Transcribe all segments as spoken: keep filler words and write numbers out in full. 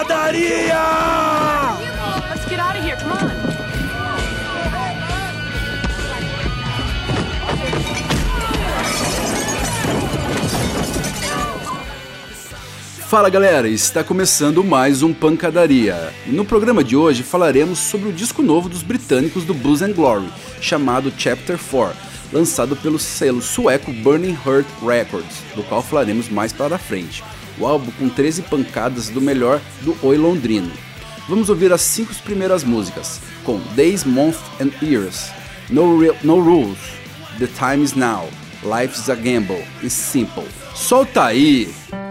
pancadaria! Let's get out of here, come on. Fala galera, está começando mais um Pancadaria. No programa de hoje falaremos sobre o disco novo dos britânicos do Blues and Glory, chamado Chapter quatro, lançado pelo selo sueco Burning Heart Records, do qual falaremos mais para frente. O álbum com treze pancadas do melhor do Oi Londrino. Vamos ouvir as cinco primeiras músicas, com Days, Months and Years, No, Real, No Rules, The Time Is Now, Life's a Gamble e Simple. Solta aí!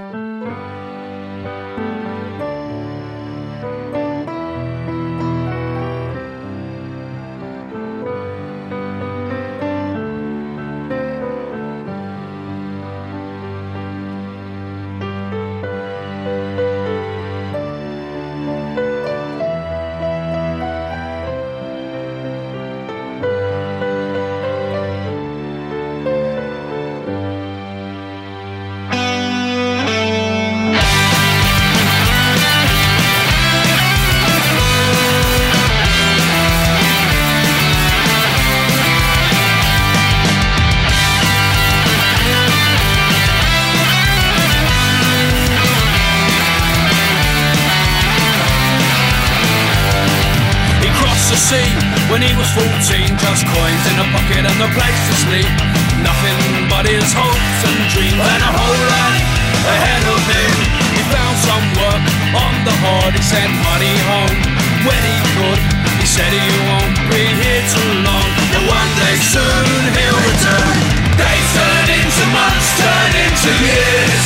When he was fourteen, just coins in a bucket and a place to sleep. Nothing but his hopes and dreams and a whole life ahead of him. He found some work on the hard, he sent money home when he could. He said he won't be here too long, but one day soon he'll return. Days turn into months, turn into years.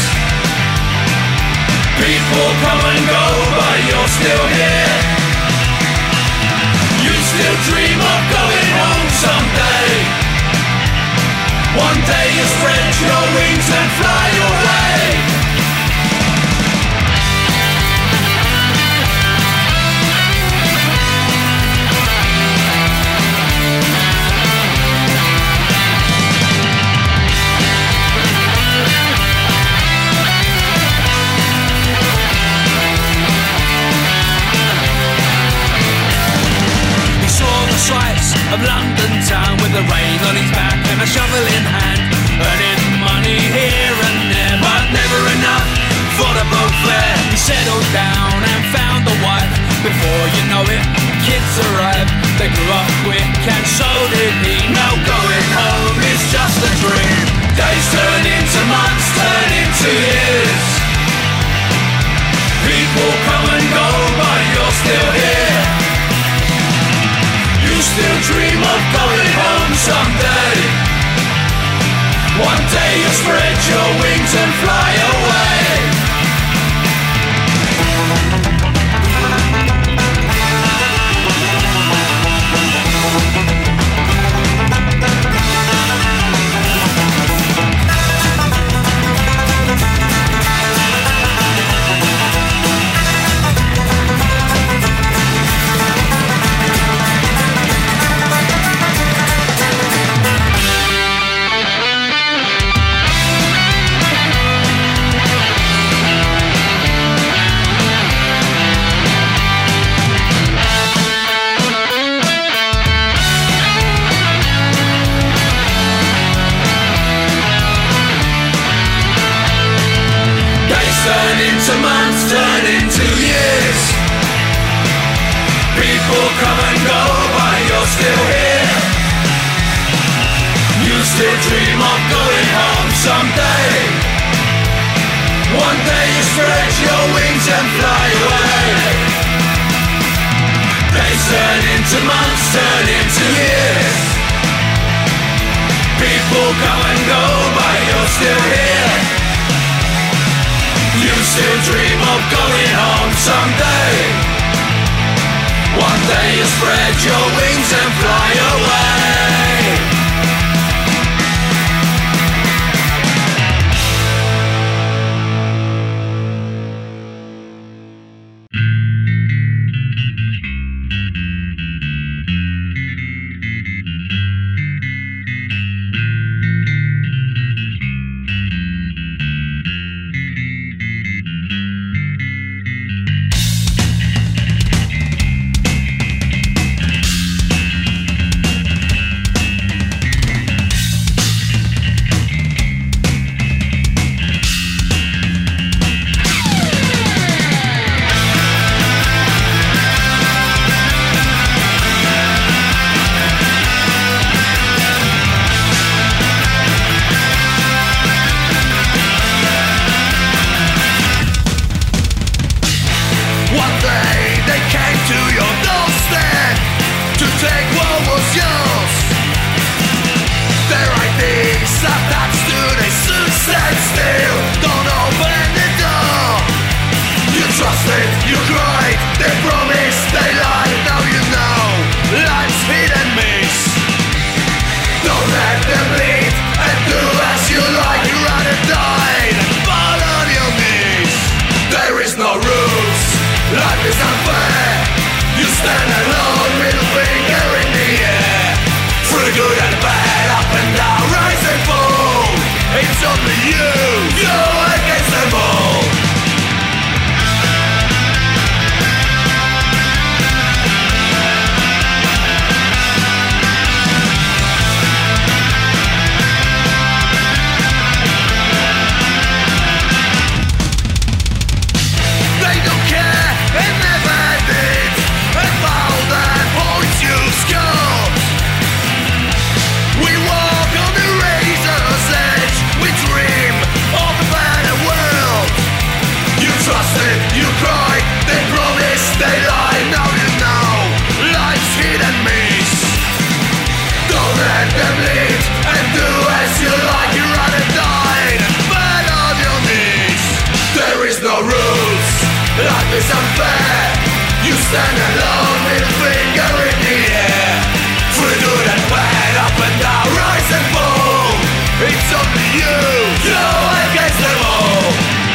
People come and go, but you're still here. You still dream of going home someday. One day you spread your wings and fly away. Sights of London town with the rain on his back and a shovel in hand, earning money here and there, but never enough for the boat fare. He settled down and found a wife. Before you know it, kids arrived. They grew up quick and so did he. Now going home is just a dream. Days turn into months, turn into years. People come and go, but you're still here. You still dream of going home someday. One day you'll spread your wings and fly away. Months turn into years. People come and go, but you're still here. You still dream of going home someday. One day you spread your wings and fly away. Days turn into months, turn into years. People come and go, but you're still here. You still dream of going home someday. One day you spread your wings and fly away. It's only you, you against them all. They don't care, they never did, about that point you scored. We walk on the razor's edge, we dream of a better world. You trusted, you cried, they promised, they lied. Now you know life's hit and miss. Don't let them lead and do as you like. You rather die than bad on your knees. There is no rules, life is unfair. You stand alone with a finger in the air. Through good and bad, up and down, rise and fall. It's only you, you against them all.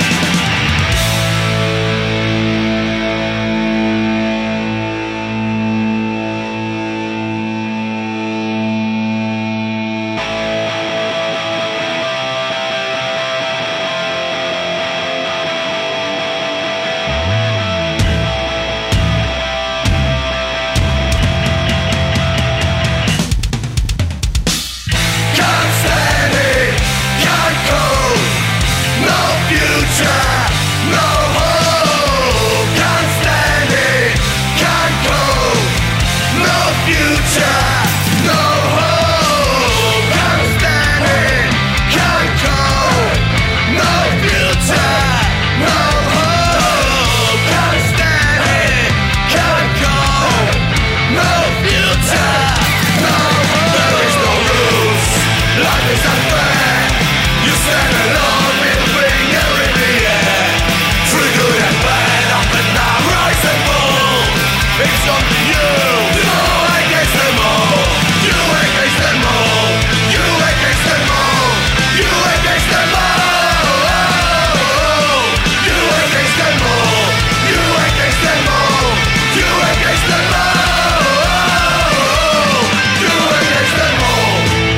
Can't stand it, can't cope. No future, no hope. Can't stand it, can't cope. No future, no hope. Can't stand it, can't cope. No future, no hope. Can't stand it, can't cope. No future, no hope. There is no rules, life is unfair. You stand alone with a finger in the air. Through good and bad, up and down, rise and fall. It's only you, you against them all. You against them all. You against them all. You against them all. You against them all. You against them all. You against them all. You against them all.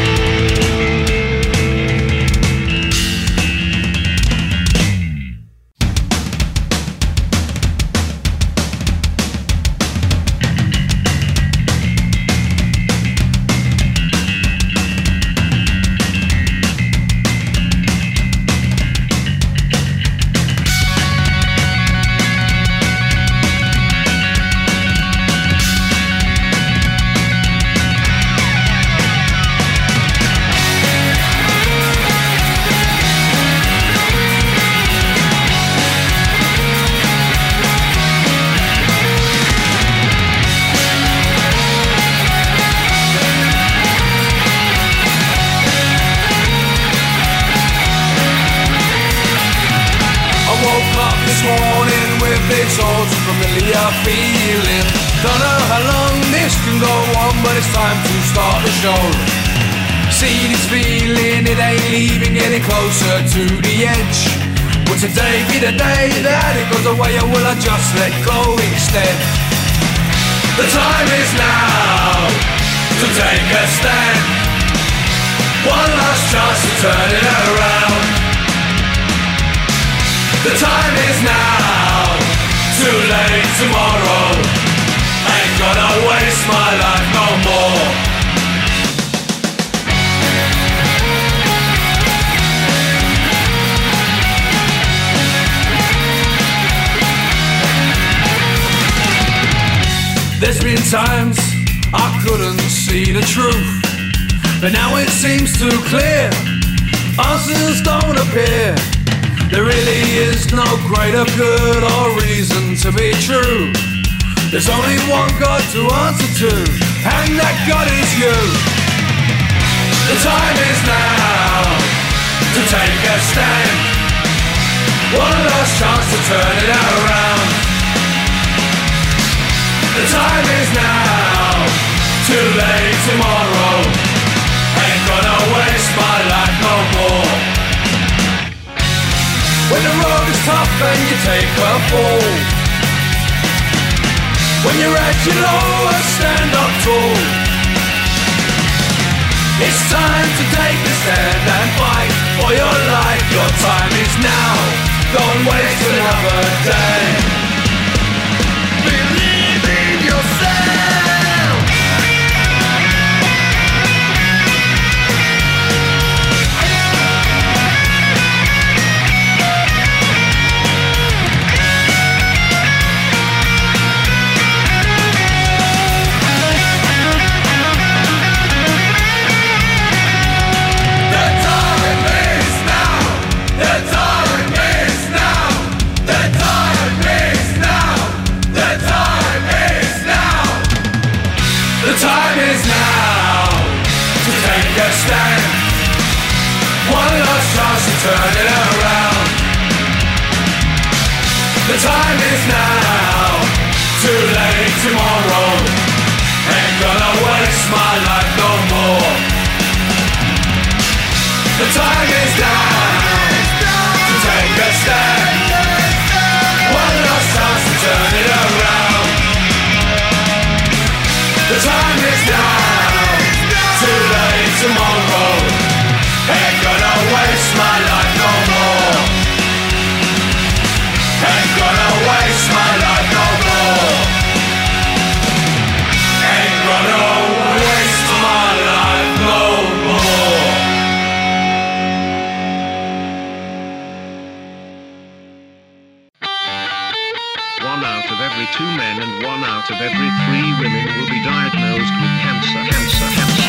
I woke up this morning with this old familiar feeling. Don't know how long this can go on, but it's time to start the show. See this feeling, it ain't leaving, getting closer to the edge. Will today be the day that it goes away, or will I just let go instead? The time is now to take a stand. One last chance to turn it around. The time is now, too late tomorrow. Ain't gonna waste my life no more. There's been times I couldn't see the truth, but now it seems too clear. Answers don't appear. There really is no greater good or reason to be true. There's only one God to answer to, and that God is you. The time is now to take a stand. One last chance to turn it around. The time is now, too late tomorrow. Ain't gonna waste my life no more. When the road is tough and you take a fall, when you're at your lowest, stand up tall. It's time to take the stand and fight for your life. Your time is now. Don't waste another day. Believe in yourself. Turn it around. The time is now. Too late tomorrow. Ain't gonna waste my life no more. The time is now to take a stand. One last chance to turn it around. The time is now. Too late tomorrow. Ain't gonna waste my life no more. Ain't gonna waste my life no more. Ain't gonna waste my life no more. One out of every two men and one out of every three women will be diagnosed with cancer. Cancer. Cancer.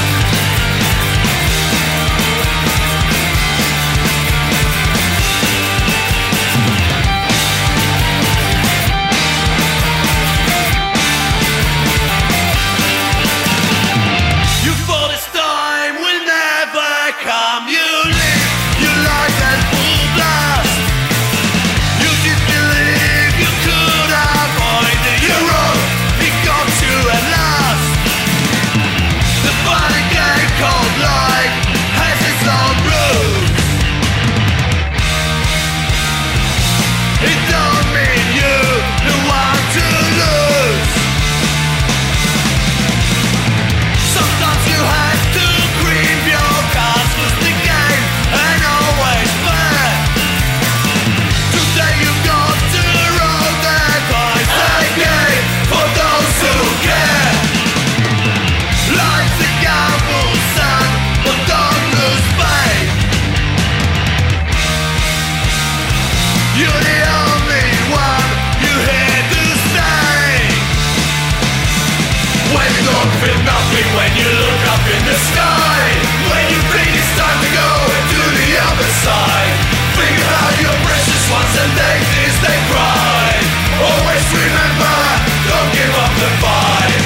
When you look up in the sky, when you think it's time to go to the other side, think about your precious ones and they tears they cry. Always remember, don't give up the fight.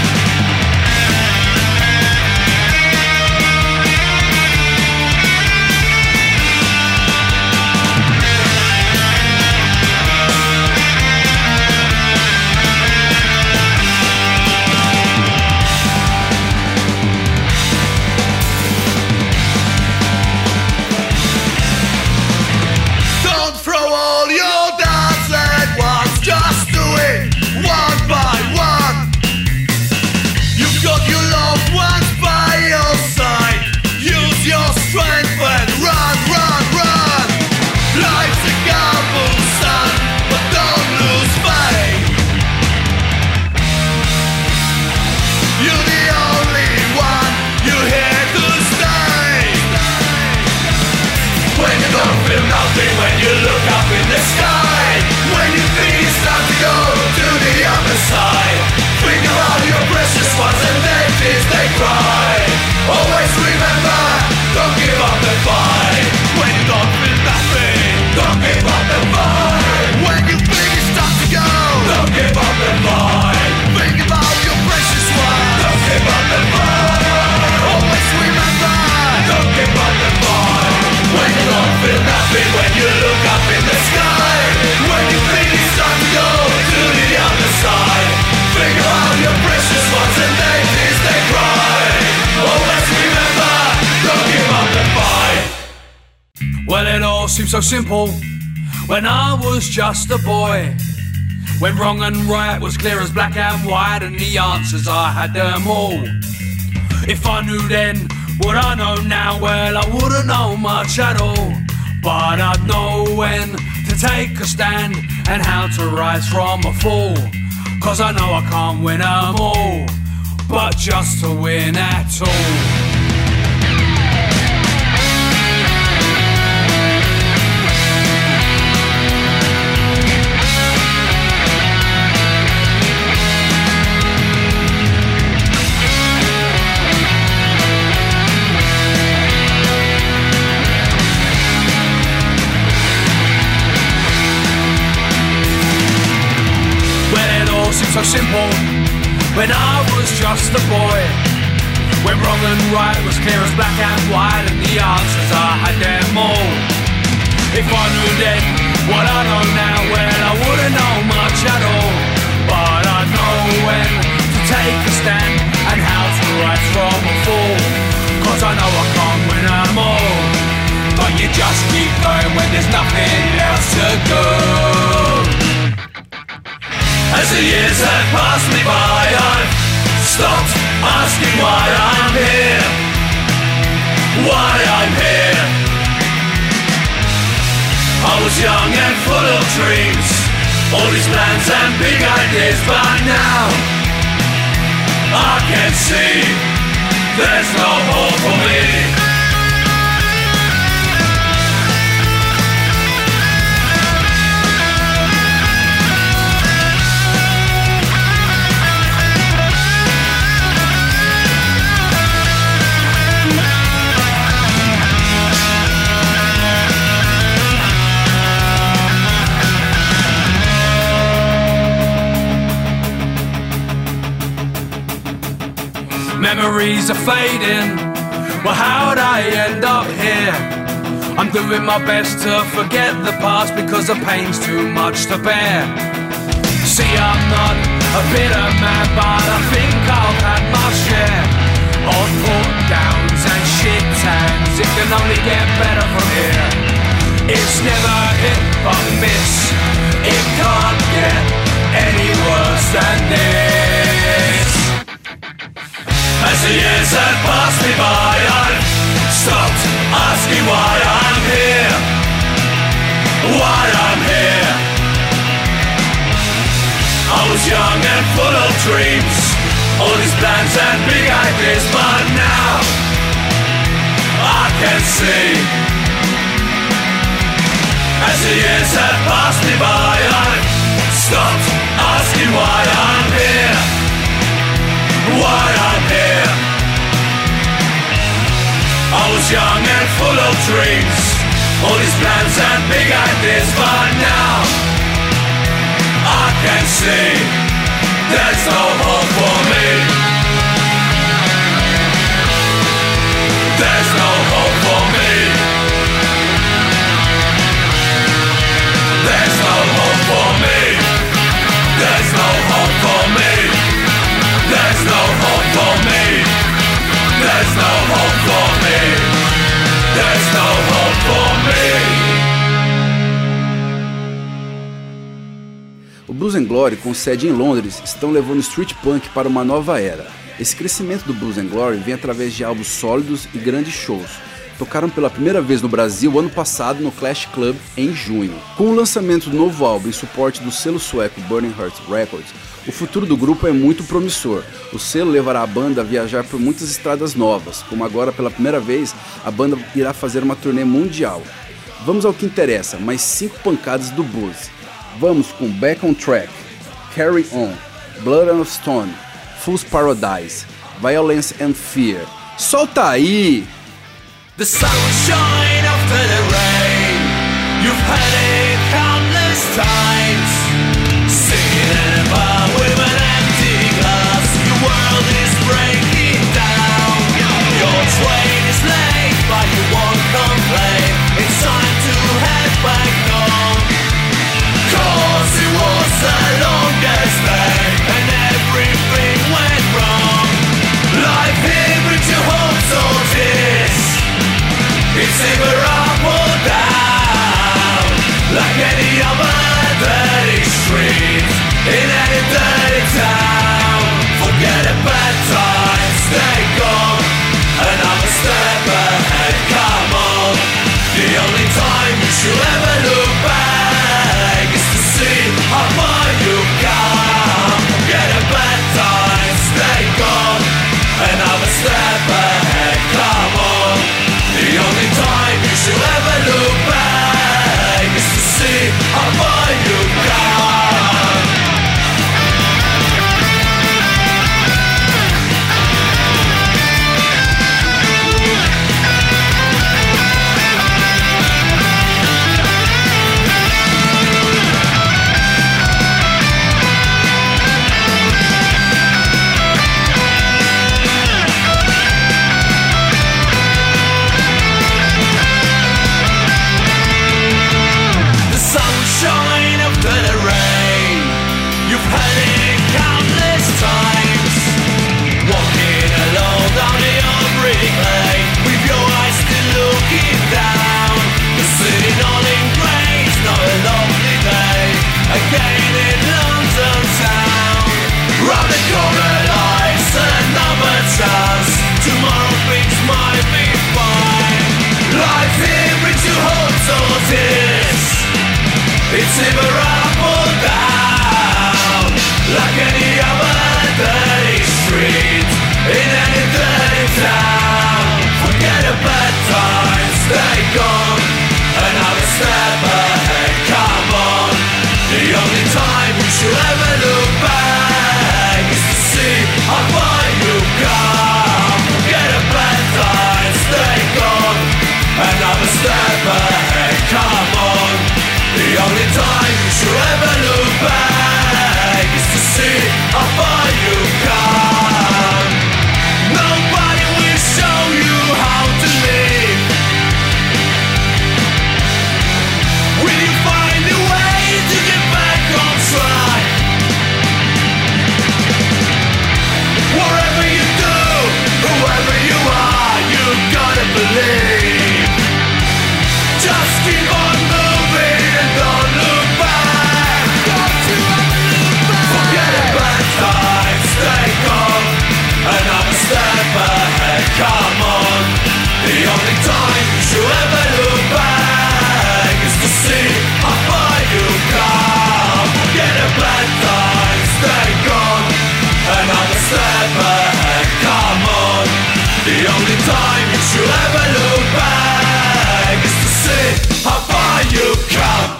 When you look up in the sky, when you think it's time to go to the other side, think about your precious ones and they tears they cry. Always remember, don't give up the fight. When you don't feel nothing, don't give up the fight. When you think it's time to go, don't give up the fight. Think about your precious ones, don't give up the fight. Always remember, don't give up the fight. When you don't feel nothing, when you look up in the sky, when you think it's time to go to the other side, think about your precious ones and they tears they cry. Always remember, don't give up the fight. Well, it all seems so simple when I was just a boy, when wrong and right was clear as black and white, and the answers I had them all. If I knew then what I know now, well, I wouldn't know much at all. But I'd know when to take a stand and how to rise from a fall. Cause I know I can't win them all, but just to win at all. Seems so simple when I was just a boy, when wrong and right was clear as black and white, and the answers I had them all. If I knew then what I know now, well, I wouldn't know much at all. But I know when to take a stand and how to rise from a fall. Cause I know I can't win them all, but you just keep going when there's nothing else to do. As the years have passed me by, I've stopped asking why I'm here, why I'm here. I was young and full of dreams, all these plans and big ideas, but now I can see there's no hope for me. Memories are fading, well, how'd I end up here? I'm doing my best to forget the past because the pain's too much to bear. See, I'm not a bitter man, but I think I've had my share of put-downs and shit tags. It can only get better from here. It's never hit but miss, it can't get any worse than this. As the years have passed me by, I've stopped asking why I'm here, why I'm here. I was young and full of dreams, all these plans and big ideas, but now I can see. As the years have passed me by, I've stopped asking why I'm here, why I'm here. I was young and full of dreams, all these plans and big ideas, but now I can see there's no hope for me. There's no hope for me. There's no hope for me. There's no hope for me. There's no hope for me. There's no hope for me. There's no hope for me. O Blues and Glory, com sede em Londres, estão levando o street punk para uma nova era. Esse crescimento do Blues and Glory vem através de álbuns sólidos e grandes shows. Tocaram pela primeira vez no Brasil ano passado no Clash Club em junho. Com o lançamento do novo álbum em suporte do selo sueco Burning Heart Records, o futuro do grupo é muito promissor. O selo levará a banda a viajar por muitas estradas novas, como agora pela primeira vez a banda irá fazer uma turnê mundial. Vamos ao que interessa, mais cinco pancadas do blues. Vamos com Back on Track, Carry On, Blood and Stone, Fool's Paradise, Violence and Fear. Solta aí! The sunshine after the rain, you've had it countless times. Singing in a bar with an empty glass, your world is breaking down. Your train is late, but you won't complain. It's time to head back home. Cause it was the longest day, and everything went wrong. Life here brings you hopes or tears. It's either up or down, like any rain after the rain. You've heard it countless times. Walking alone down the old brick lane, with your eyes still looking down. You're sitting all in grey, it's not a lovely day again in London town. Round the corner lies another chance. Tomorrow things might be fine. Life here brings you hopes or tears. It's either up or down, like any other dirty street in any dirty town. Forget the bad times, they gone. Another step ahead, come on. The only time you should ever look back is to see how far you've come. Forget the bad times, they gone. Another step ahead, come on. The only time you should ever look back is to see how far you've come. Nobody will show you how to live. Will you find a way to get back on track? Whatever you do, whoever you are, you gotta believe. Just keep on moving and don't look back. Don't you ever look back. Forget about times, stay gone. Another step ahead, come on. The only time you should ever look back is to see how far you've come. Forget about times, stay gone. Another step ahead, come on. The only time you should ever look back is to see how far you've come.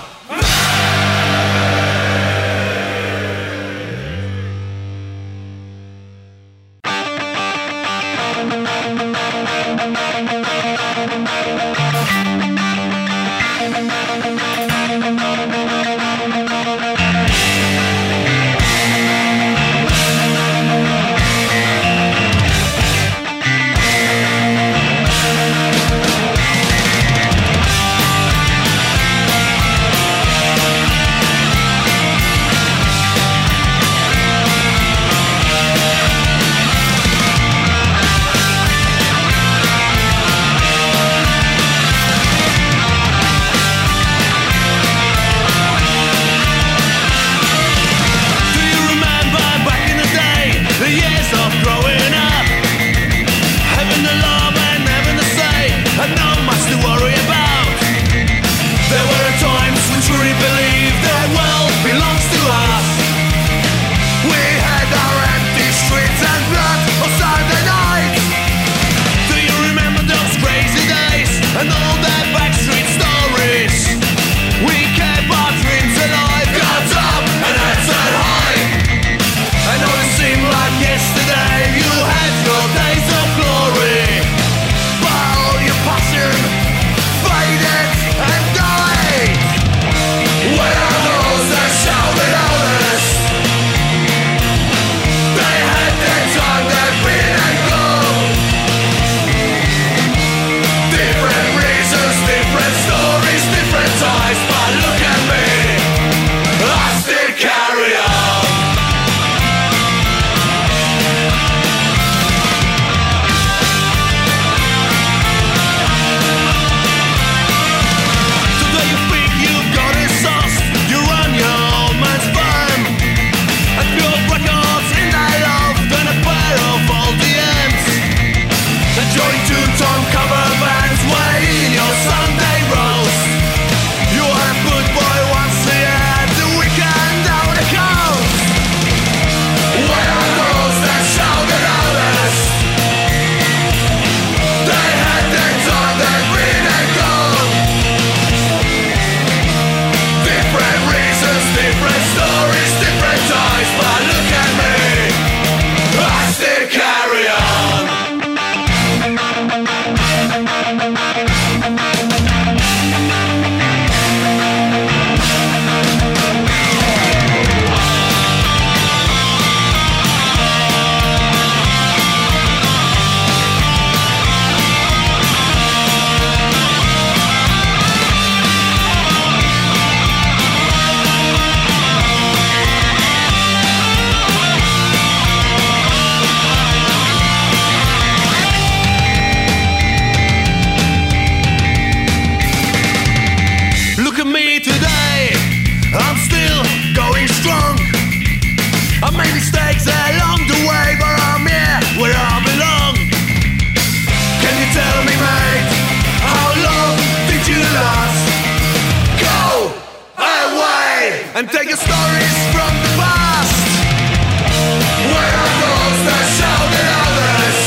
and take your stories from the past. Where are those that shouted others?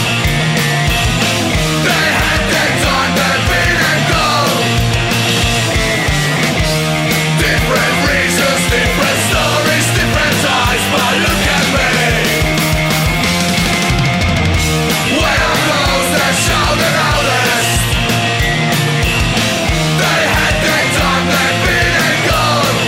They had their time, they've been and gone. Different reasons, different stories, different eyes, but look at me. Where are those that shouted others? They had their time, they've been and gone.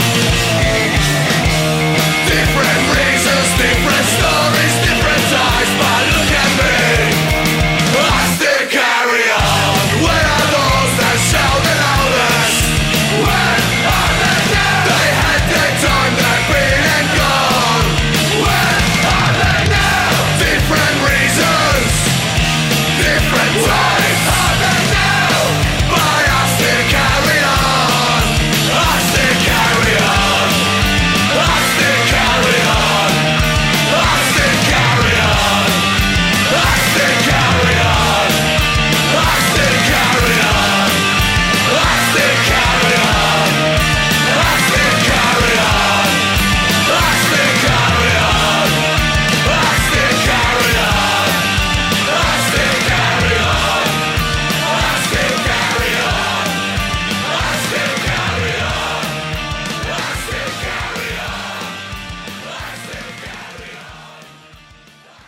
Different reasons, different stories, different eyes, but look at me. I still carry on. Where are those that shouted others? Where are they now? They had their time, they've been and gone. Where are they now? Different reasons, different times. Where are they now? But I still carry on. I still carry on. I still carry on. I still carry on. I still carry on. I still carry on. I still carry on. I still carry on. I still carry on. I still carry on. I still carry on. I still carry on. I still carry on. I still carry on. I still carry on.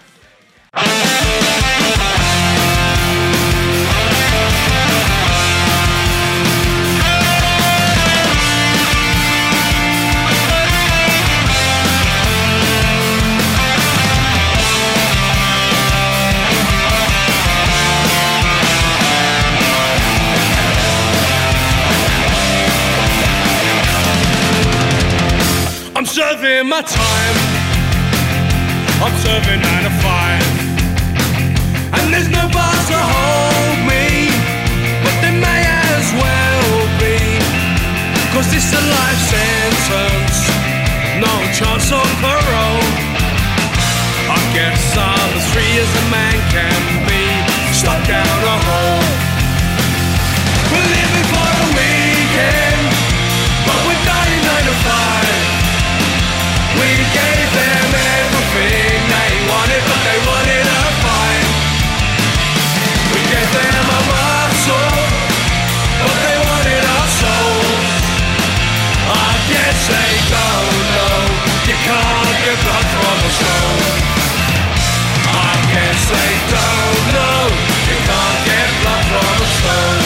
I'm serving my time. I'm serving nine to five. And there's no bars to hold me, but there may as well be. Cause this is a life sentence, no chance of parole. I guess I'm as free as a man can be, stuck down a hole. We're living for the weekend, but we're dying nine to five. We gave them everything they wanted, but they wanted a fight. We gave them a muscle, but they wanted our souls. I guess they don't know you can't get blood from a stone. I guess they don't know you can't get blood from a stone.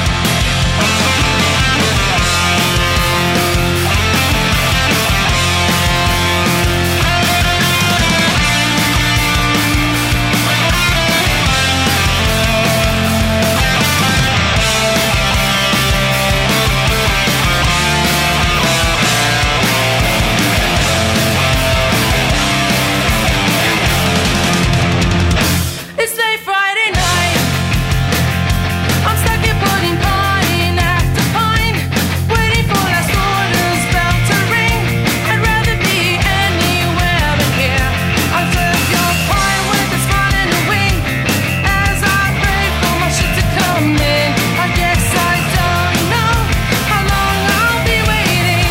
It's late Friday night. I'm stuck in pudding pine after pine, waiting for last orders bell to ring. I'd rather be anywhere but here. I'll serve your pie with a smile and a wink as I pray for my shit to come in. I guess I don't know how long I'll be waiting.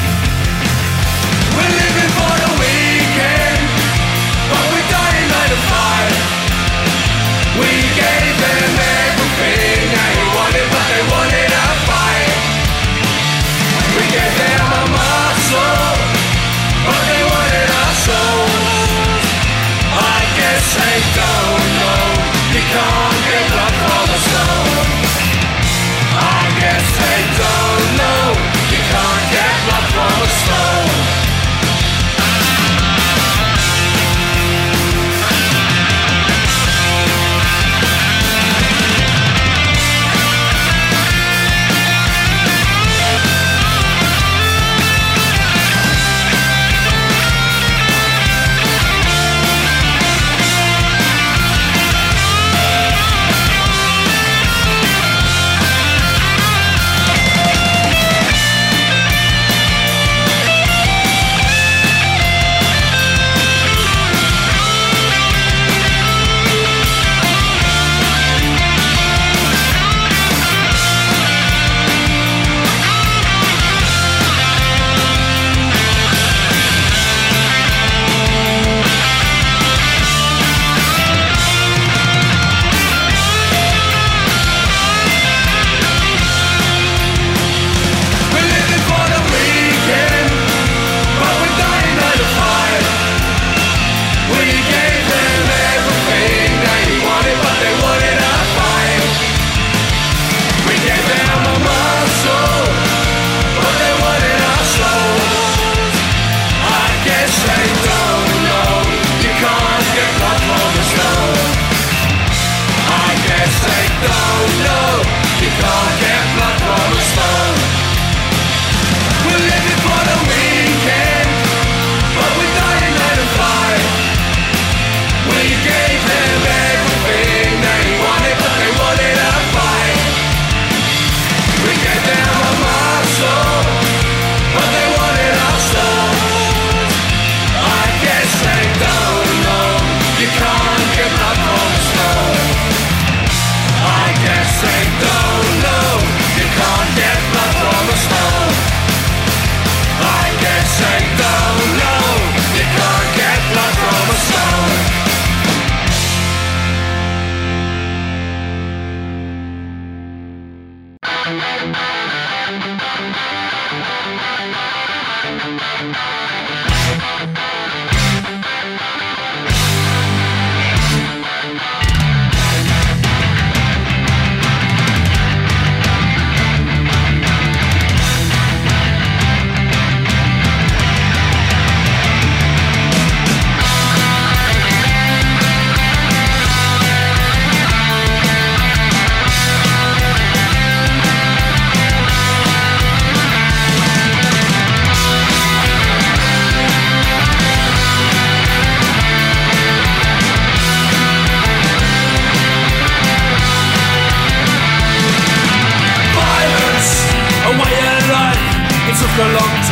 We're living for the weekend, but we're dying nine to five. We gave them everything they wanted, but they wanted a fight. We gave them a muscle, but they wanted our souls. I guess they don't know you can't get blood from a stone. I guess they don't know you can't get blood from a stone.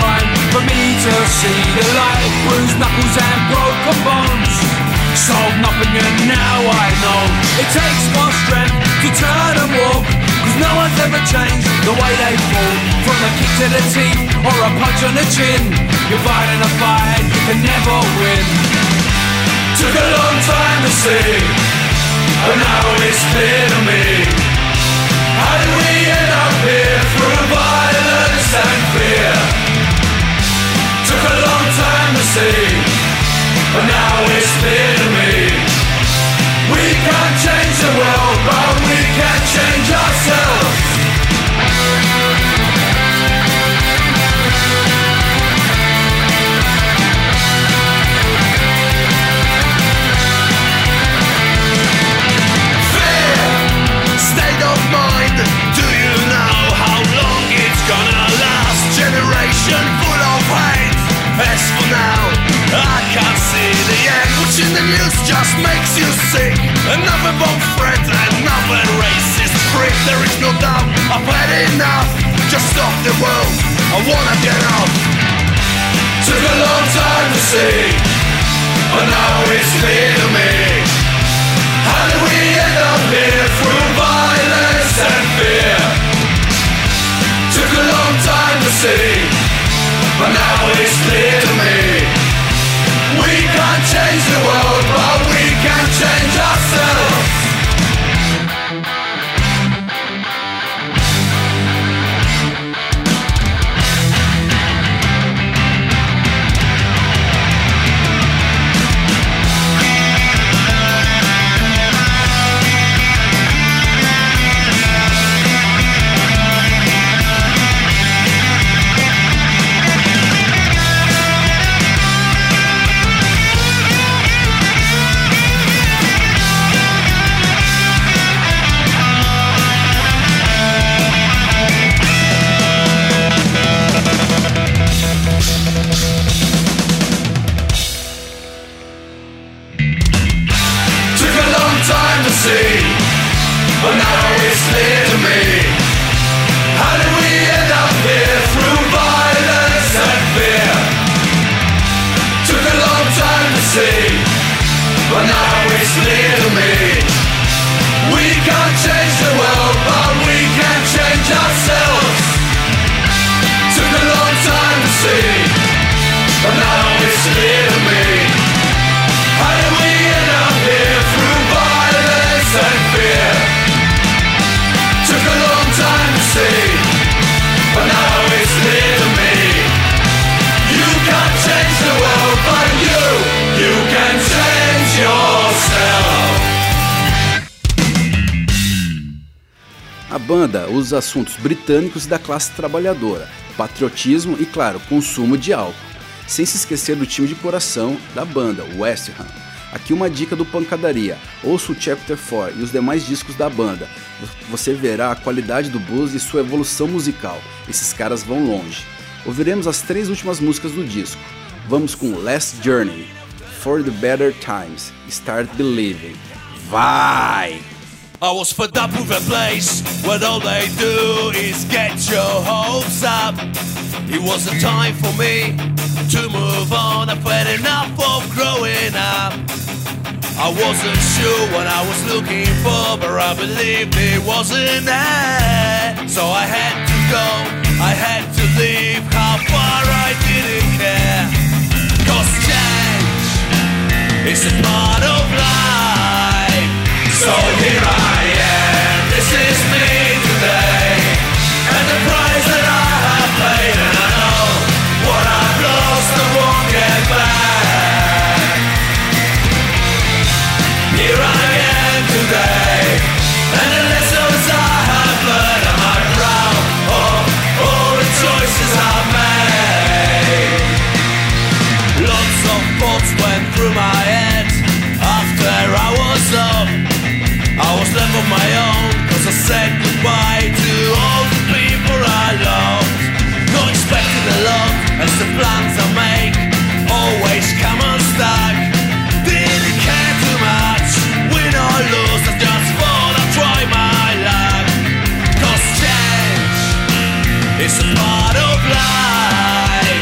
time for me to see the light. Bruised knuckles and broken bones, sold nothing and now I know it takes more strength to turn and walk, cause no one's ever changed the way they fall. From a kick to the teeth or a punch on the chin, you're fighting a fight you can never win. Took a long time to see, but now it's clear to me. How did we end up here through violence and fear? Took a long time to see, but now it's clear to me. We can't change the world, but we can change ourselves. Fear, state of mind. Do you know how long it's gonna last? Generation full of hate. As for now, I can't see the end. Watching the news just makes you sick. Another bomb threat, another racist prick. There is no doubt, I've had enough. Just stop the world, I wanna get off. Took a long time to see, but now it's clear to me. How did we end up here through violence and fear? Took a long time to see, but now it's clear to me. We can't change the world, but we can change ourselves. But now it's clear to me. How did we end up here through violence and fear? Took a long time to see, but now it's clear to me. We can't change the world, but we can change ourselves. Took a long time to see, but now it's clear to me. How did we end up here through violence and fear? Took a long time to see, but now it's clear to me. You can't change the world, but you, you can change yourself. A banda usa assuntos britânicos e da classe trabalhadora, patriotismo e, claro, consumo de álcool, sem se esquecer do time de coração da banda, West Ham. Aqui uma dica do Pancadaria: ouça o Chapter quatro e os demais discos da banda. Você verá a qualidade do blues e sua evolução musical. Esses caras vão longe. Ouviremos as três últimas músicas do disco. Vamos com Last Journey, For the Better Times, Start Believing. Vai! I was fed up with a place where all they do is get your hopes up. It was a time for me to move on. I've had enough of growing up. I wasn't sure what I was looking for, but I believed it wasn't there. So I had to go, I had to leave. How far I didn't care. Cause change is a part of life. So here I am, this is me today. And the price that I have paid, and I know what I've lost I won't get back. Here I am today, and the lessons I have learned, am I proud of all the choices I've made? Lots of thoughts went through my head after I was up. I was left on my own, cause I said goodbye to all the people I loved. Not expecting a lot, as the plans I make always come unstuck. Didn't care too much, win or lose, I just thought I'd try my luck. Cause change is a part of life.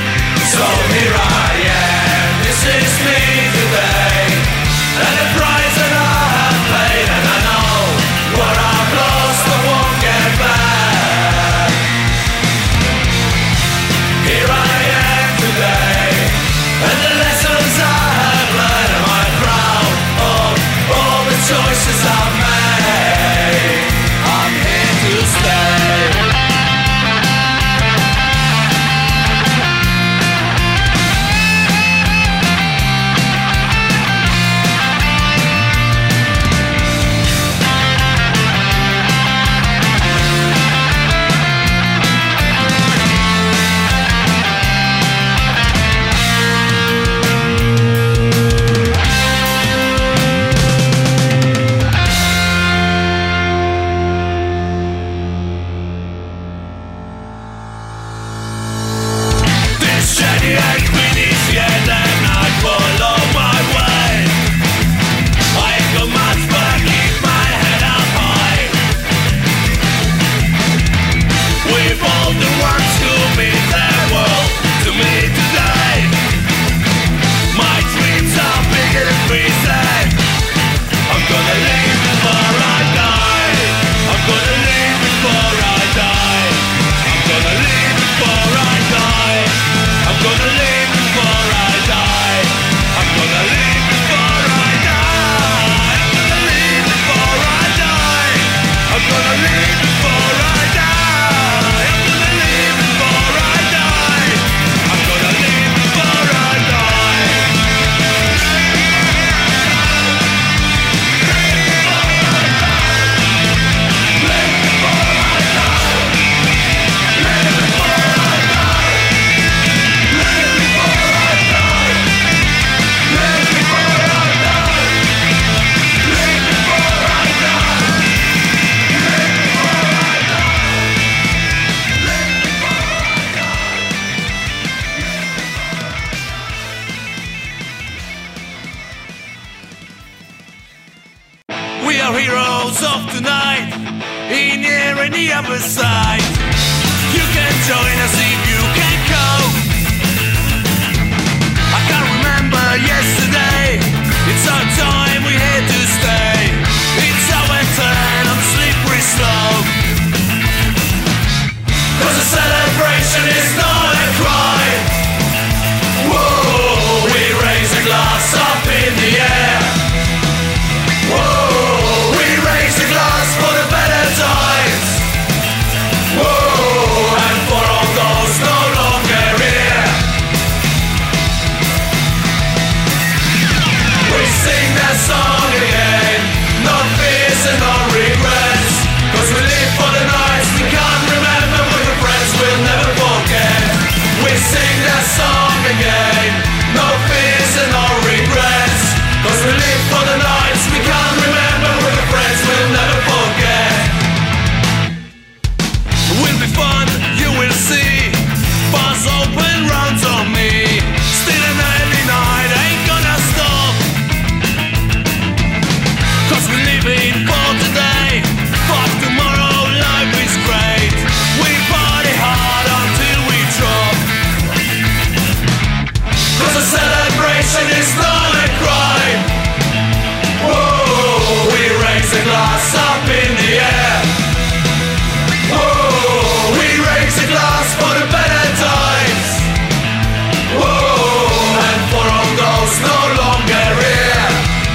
goes off tonight, in here and the other side. You can join us if you can go. I can't remember yesterday. It's our time, we're here to stay. It's our turn, I'm slippery slope. Cause a celebration is not a crime. Whoa, we raise a glass up in the air. Whoa, we raise a glass for the better times. Whoa, and for all those no longer here. We sing that song again, no fears and no regrets. Cause we live for the nights we can't remember, with the friends we'll never forget. We sing that song again, no fears and no regrets. Cause we live for the nights we can't remember, with the friends we'll never forget. Will be fun, you will see. Bars open rounds on me. Still an early night, ain't gonna stop. Cause we live in for today. Fuck tomorrow, life is great. We party hard until we drop. Cause a celebration is not a crime. Whoa, we raise a glass up in the air. Whoa, we raise a glass for the better times. Whoa, and for all those no longer here.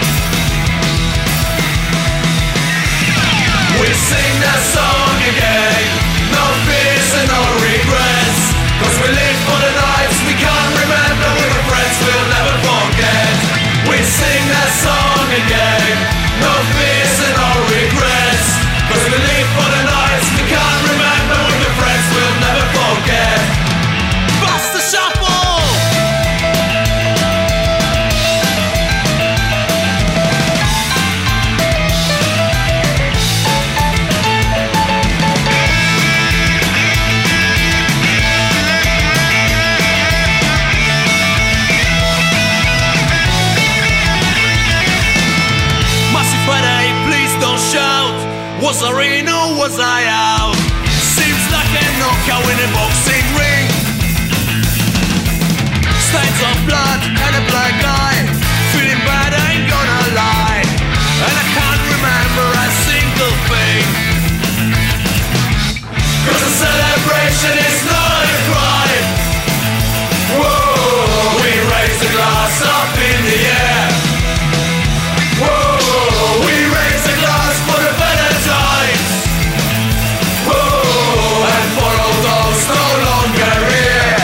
We sing that song again, no fears and no regrets. Cause we live for the nights we can't remember, with the friends we'll never forget. We sing that song again, no fears and no regrets. Cause we live for the nights we can't remember, with the friends we'll never forget. Bust the shuffle! Was I in or was I out? Seems like a knockout in a boxing ring. Stains of blood and a black eye. Feeling bad, ain't gonna lie. And I can't remember a single thing. Cause a celebration is not a crime. Whoa, we raise the glass up in the air. Whoa, we raise the glass for the better times. Whoa, and for all those no longer here.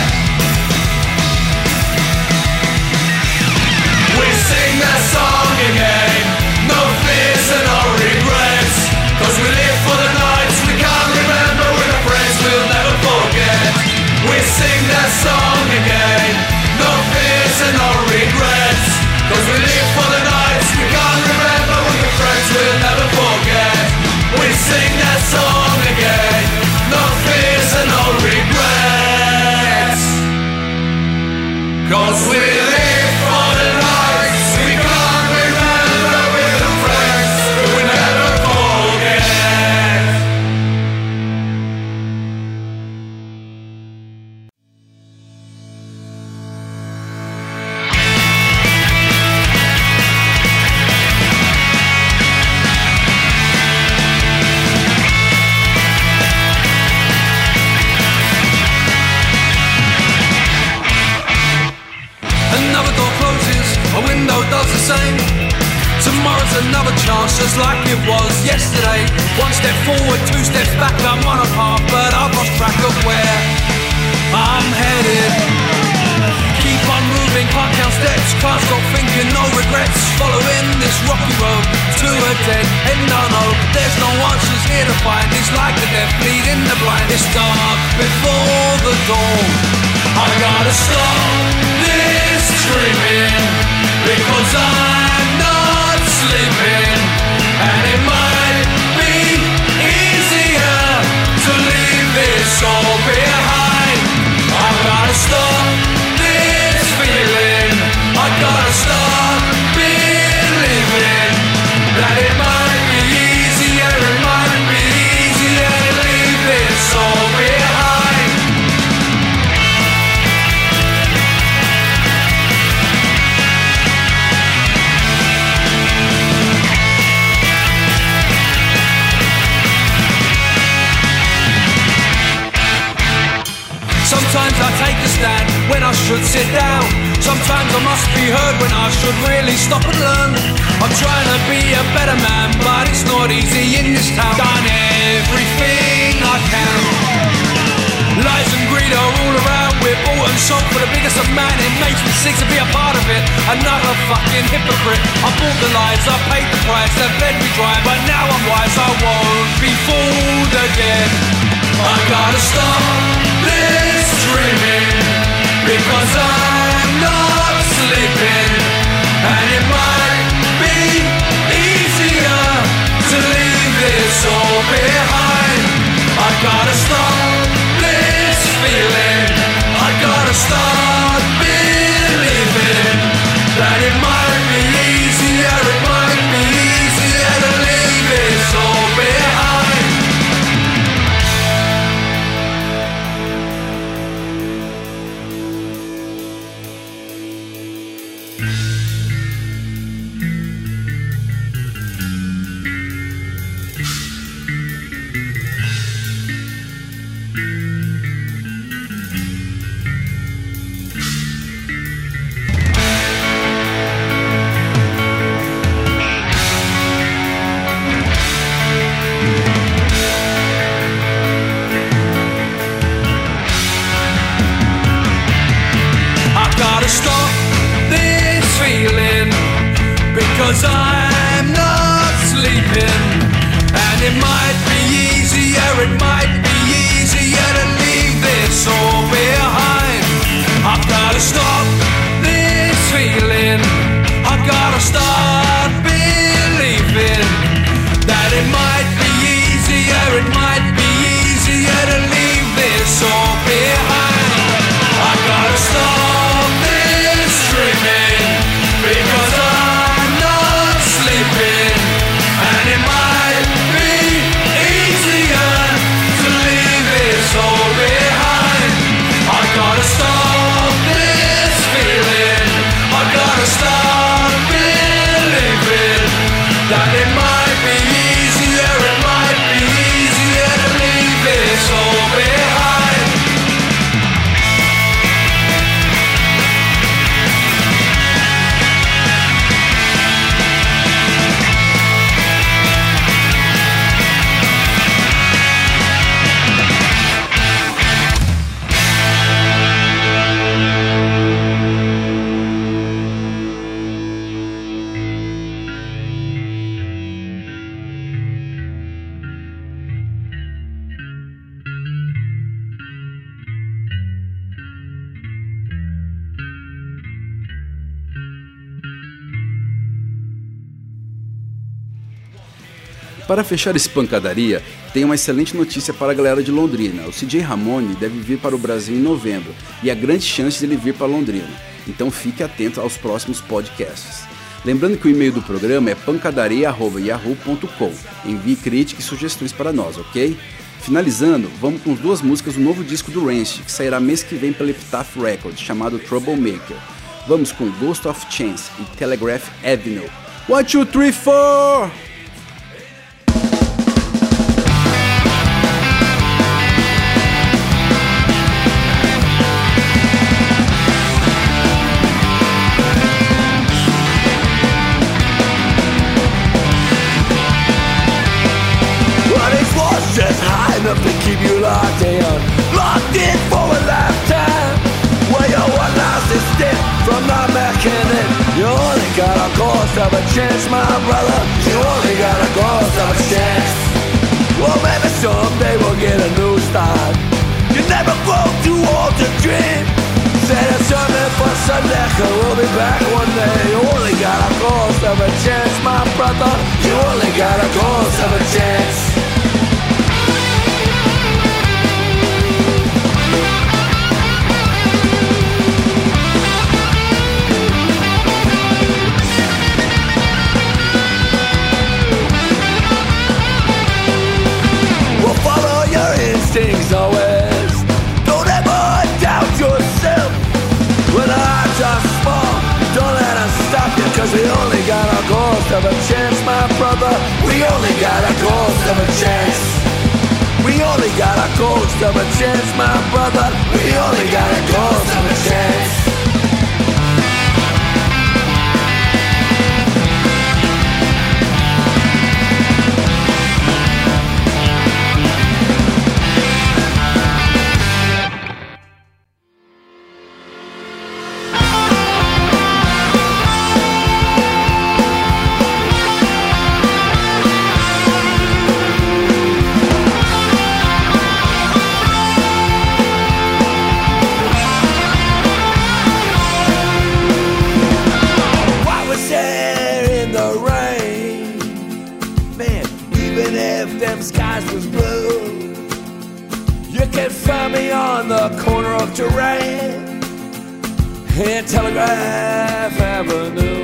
We sing that song again, no fears and no regrets. Cause we live for the nights we can't remember, with the friends we'll never forget. We sing that song again, no fears and no regrets. Cause we live for the nights we can't remember, with the friends we'll never forget. We sing that song again, no fears and no regrets. Cause we live for the nights we can't remember, with the friends we'll never forget. Another door closes, a window does the same. Tomorrow's another chance, just like it was yesterday. One step forward, two steps back, I'm on a path, but I've lost track of where I'm headed. Keep on moving, can't count steps, can't stop thinking, no regrets. Following this rocky road to a dead end, I know there's no answers here to find. It's like the death leading the blind. It's dark before the dawn. I gotta stop this dreaming, because I'm not sleeping. And it might be easier to leave this all behind. I gotta stop this feeling, I gotta stop believing that it might be easier should sit down. Sometimes I must be heard when I should really stop and learn. I'm trying to be a better man, but it's not easy in this town. Done everything I can. Lies and greed are all around. We're bought and sold for the biggest of man. It makes me sick to be a part of it. Another fucking hypocrite. I bought the lies, I paid the price. They've led me dry, but now I'm wise. I won't be fooled again. I gotta stop this dreaming, because I'm not sleeping. And it might be easier to leave this all behind. I gotta stop this feeling. I gotta start believing that it might be easier, it might be easier to leave this all behind. Because I'm not sleeping. And it might be easier, it might be easier to leave this all behind. I've gotta stop this feeling. I've gotta start believing that it might be easier, it might be easier to leave this all behind. I gotta stop this dreaming, because I'm not sleeping. And it might be easier to leave this all behind. I gotta stop this feeling. I gotta start believing that it might be easier, it might be easier to leave this all behind. Para fechar esse pancadaria, tem uma excelente notícia para a galera de Londrina. O C J Ramone deve vir para o Brasil em novembro e há grande chance de ele vir para Londrina. Então fique atento aos próximos podcasts. Lembrando que o e-mail do programa é pancadaria arroba yahoo ponto com. Envie críticas e sugestões para nós, ok? Finalizando, vamos com duas músicas do novo disco do Rancid, que sairá mês que vem pela Epitaph Records, chamado Troublemaker. Vamos com Ghost of Chance e Telegraph Avenue. One, two, three, four! Just high enough to keep you locked in, locked in for a lifetime. Well, you're one last step from not making it. You only got a ghost of a chance, my brother. You only got a ghost of a chance. Well, maybe someday we'll get a new start. You never grow too old to dream. Say there's something for some liquor. We'll be back one day. You only got a ghost of a chance, my brother. You only got a ghost of a chance. Things always. Don't ever doubt yourself. When the hearts are small, don't let us stop you, cause we only got a ghost of a chance, my brother. We only got a ghost of a chance. We only got a ghost of a chance, my brother. We only got a ghost of a chance. in Telegraph Avenue.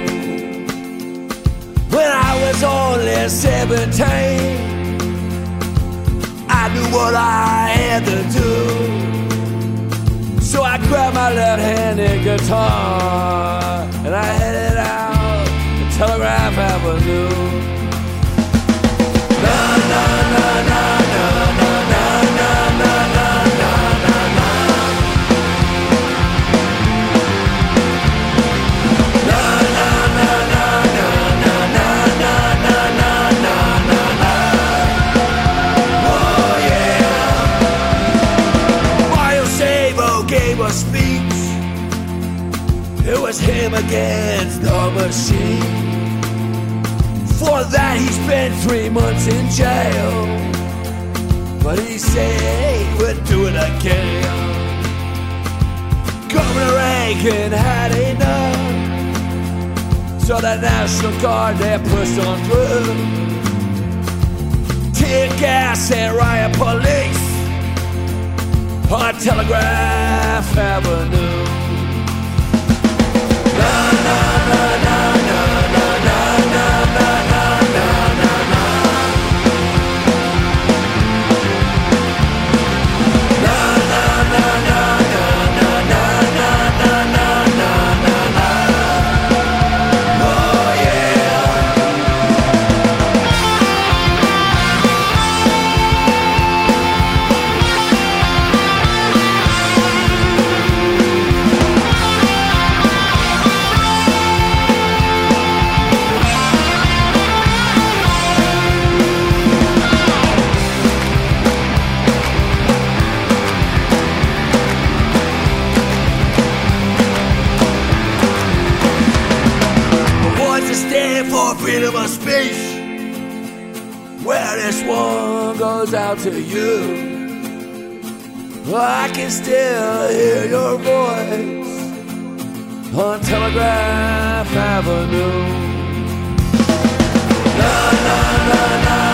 When I was only seventeen, I knew what I had to do. So I grabbed my left-handed guitar and I headed out to Telegraph Avenue. Na na na na na na na na na na na na. Na na na na na na na na na na na na. Oh yeah. Mario Sabo gave a speech. It was him against the machine. For that he spent three months in jail, but he said he would do it again. Governor Reagan had enough, so the National Guard they pushed on through. Tear gas and riot police on Telegraph Avenue. Na na na na na na na na na. Freedom of speech. Well, this one goes out to you. I can still hear your voice on Telegraph Avenue. Na na na na.